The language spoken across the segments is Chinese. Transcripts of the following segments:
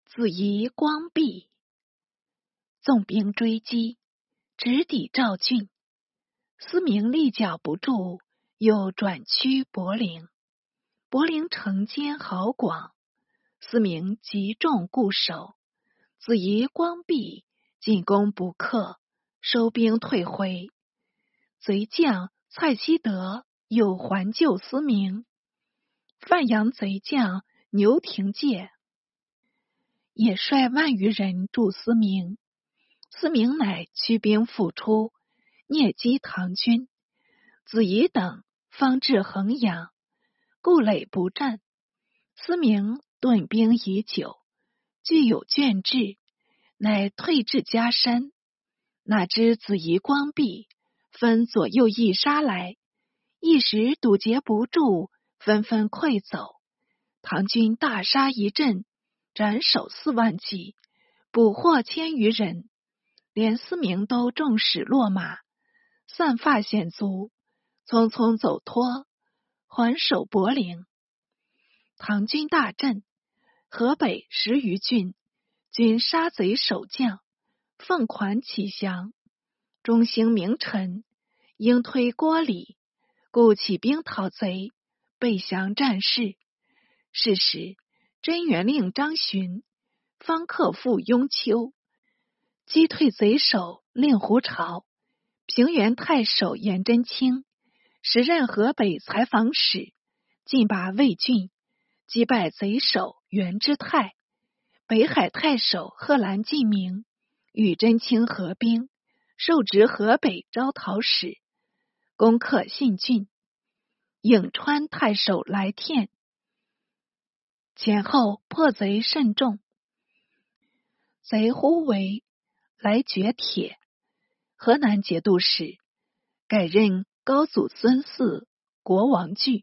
子仪光弼，纵兵追击，直抵赵郡。思明立脚不住，又转趋柏陵。柏陵城坚壕广，思明集众固守。子仪光弼进攻不克，收兵退回。贼将蔡希德又还救思明。范阳贼将牛廷介也率万余人助思明。思明乃驱兵复出，蹑击唐军。子仪等方至衡阳，故垒不战。思明顿兵已久，具有倦志，乃退至嘉山。哪知子仪光弼分左右一杀来，一时堵截不住，纷纷溃走。唐军大杀一阵，斩首4万计，捕获1000余人，连思明都众矢落马，散发险卒，匆匆走脱，还守柏陵。唐军大振，河北10余郡均杀贼守将，奉款起降。中兴名臣应推郭礼，故起兵讨贼，备降战事。是时真元令张巡方克复雍丘，击退贼首令狐潮。平原太守颜真卿时任河北采访使，进拔魏郡，击败贼首袁之泰。北海太守贺兰进明与真卿合兵，受职河北招讨使，攻克信郡。颍川太守来天前后破贼甚众，贼呼为来掘铁。河南节度使改任高祖孙嗣国王据，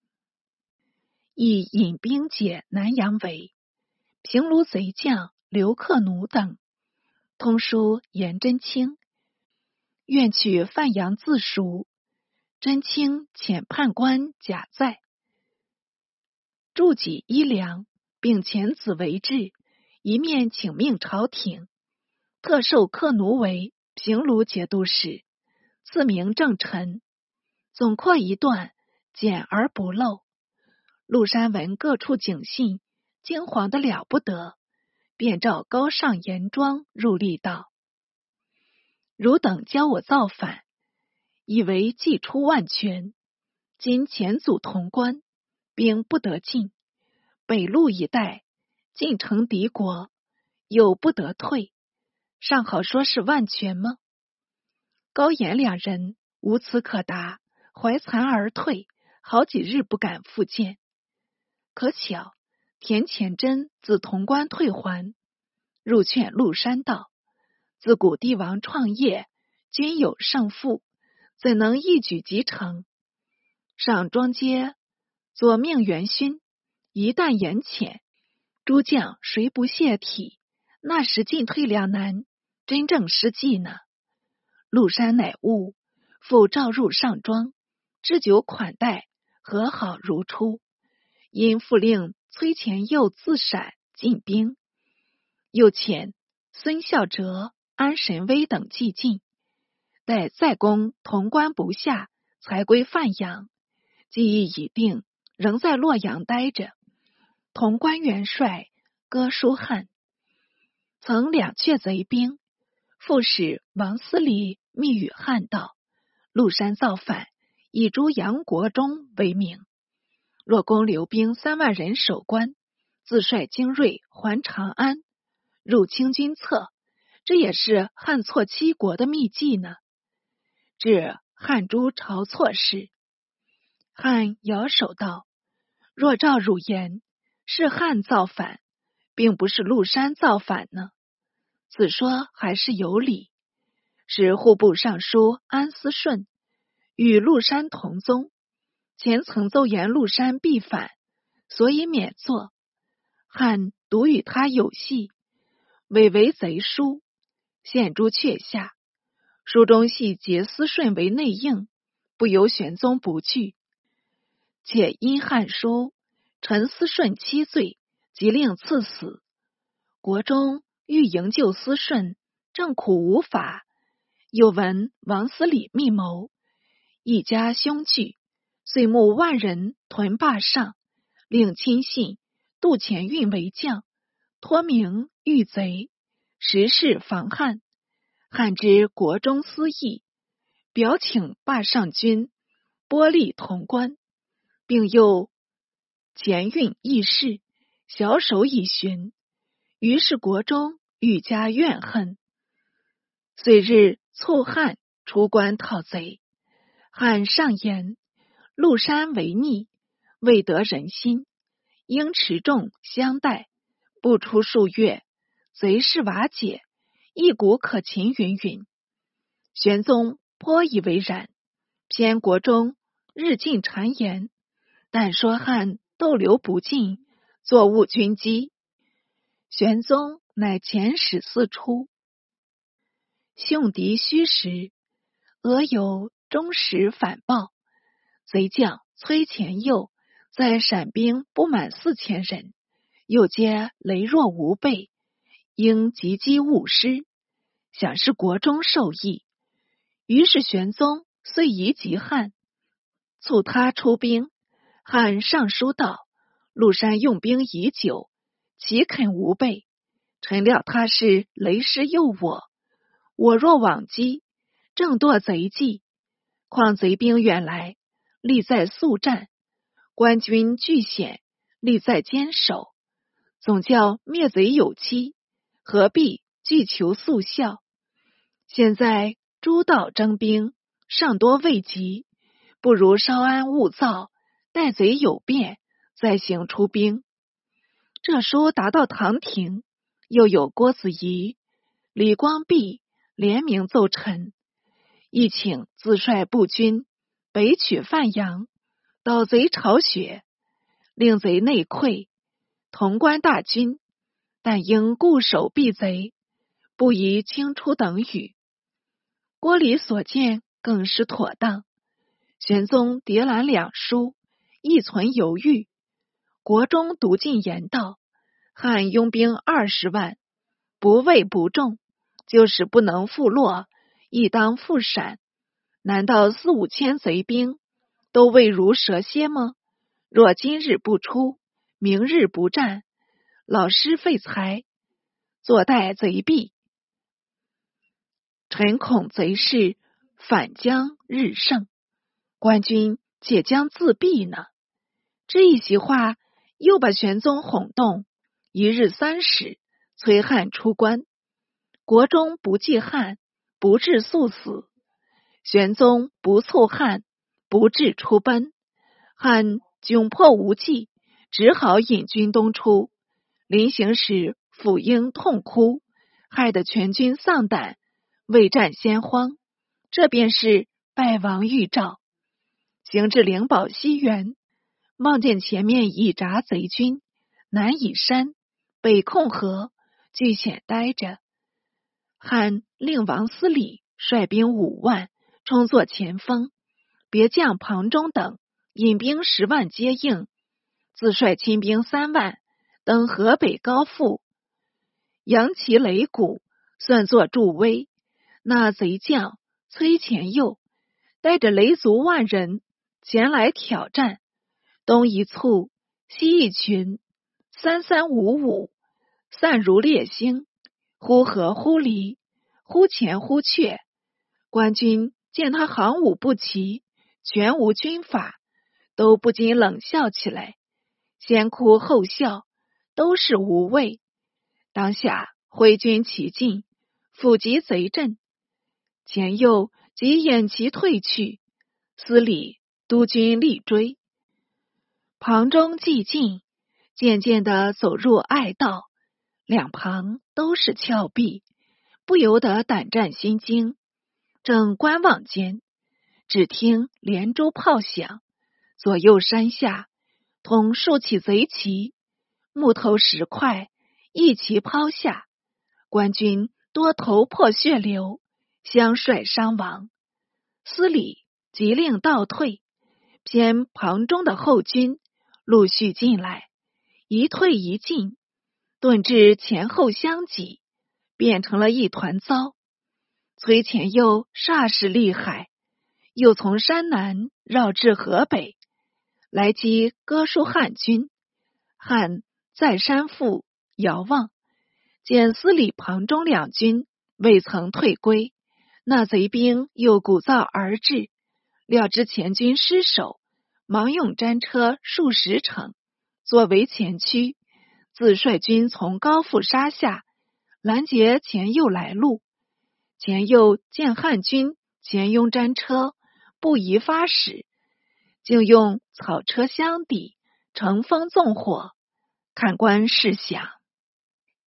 亦引兵解南阳围。平卢贼将刘克奴等通书颜真卿，愿取范阳自赎。真卿遣判官贾在助给衣粮，并遣子为质，一面请命朝廷，特授克奴为平卢节度使，赐名正臣。总括一段，简而不漏。陆山闻各处警信，惊惶得了不得，便召高尚严庄入吏道：汝等教我造反，以为既出万全，今前阻潼关，兵不得进，北路一带进城敌国，又不得退，尚好说是万全吗？高颜两人无此可答，怀惭而退，好几日不敢复见。可巧田虔真自潼关退还，入劝陆山道：自古帝王创业，均有胜负，怎能一举即成？上庄街左命元勋，一旦言浅，诸将谁不泄体？那时进退两难，真正失计呢。陆山乃悟，复召入上庄，置酒款待，和好如初。因复令崔乾佑自陕进兵，又遣孙孝哲、安神威等继进，待再攻潼关不下，才归范阳。计议已定，仍在洛阳待着。潼关元帅哥舒翰曾两却贼兵，副使王思礼密与汉道：陆山造反，以诛杨国忠为名。若攻留兵3万人守关，自率精锐还长安，入清君侧，这也是汉挫七国的秘计呢。至汉诛晁错事，汉摇手道：若照汝言，是汉造反，并不是陆山造反呢。此说还是有理。使户部尚书安思顺与陆山同宗，前曾奏言陆山必反，所以免作。汉独与他有隙，伪为贼书，献诸阙下。书中系结思顺为内应，不由玄宗不惧，且因汉书陈思顺7罪，即令赐死。 国中欲营救思顺，正苦无法，又闻王司礼密谋，一家凶惧，遂募万人屯坝上，令亲信杜潜运为将，托名御贼，实事防汉。汉知国中私议，表请坝上军拨力潼关，并又前运议事，小手以寻。于是国中愈加怨恨，遂日促汉出关讨贼。汉上言：陆山为逆，未得人心，应持重相待，不出数月，贼势瓦解，一鼓可擒云云。玄宗颇以为然，偏国中日进谗言，但说汉逗留不进，作误军机。玄宗乃遣使四出，凶敌虚实，俄有忠实反报。贼将崔乾佑在陕兵不满4000人，又皆羸弱无备，应急击误失，想是国中受益。于是玄宗遂移及汉，促他出兵。汉上书道：陆山用兵已久，岂肯无备？臣料他是雷师诱我若往击，正堕贼计。况贼兵远来，力在速战，官军据险，力在坚守，总叫灭贼有期，何必惧求速效？现在诸道征兵，尚多未及，不如稍安勿躁，待贼有变，再行出兵。这书达到唐廷，又有郭子仪、李光弼联名奏陈，亦请自率步军北取范阳，捣贼巢穴，令贼内溃，潼关大军，但应固守避贼，不宜轻出等语。郭李所见更是妥当。玄宗迭览两书，亦存犹豫。国中独进言道：汉拥兵20万，不畏不重，就是不能复落，亦当复闪。难道4、5千贼兵都畏如蛇蝎吗？若今日不出，明日不战，老师废材，坐待贼毙。臣恐贼势反将日盛，官军且将自毙呢。这一席话又把玄宗哄动，一日3时，催汉出关。国中不忌汉，不至速死；玄宗不促汉，不至出奔。汉窘迫无计，只好引军东出。临行时，辅英痛哭，害得全军丧胆，未战先慌。这便是败亡预兆。行至灵宝西园，望见前面已扎贼军，南以山，北控河，据险待着。汉令王司礼率兵5万，充作前锋，别将庞忠等引兵10万接应，自率亲兵3万登河北高阜，扬旗擂鼓，算作助威。那贼将崔乾佑带着雷族万人前来挑战，东一簇，西一群，3355，散如烈星，忽合忽离，忽前忽却。官军见他行武不齐，全无军法，都不禁冷笑起来，先哭后笑，都是无畏。当下挥军齐进，伏击贼阵，前右即掩其退去，司礼督军力追。庞忠既进，渐渐地走入隘道，两旁都是峭壁，不由得胆战心惊。正观望间，只听连珠炮响，左右山下同竖起贼旗，木头石块一齐抛下，官军多头破血流，相率伤亡。司礼急令倒退，偏庞忠的后军陆续进来，一退一进， 顿至前后相挤，变成了一团糟。崔潜佑煞是厉害，又从山南绕至河北，来击哥舒汉军。汉再山复遥望，见司礼庞中两军未曾退归，那贼兵又鼓噪而至，料知前军失守，忙用战车数十乘，作为前驱，自率军从高阜杀下，拦截前右来路。前右见汉军前拥战车，不宜发使，竟用草车相抵，乘风纵火。看官试想，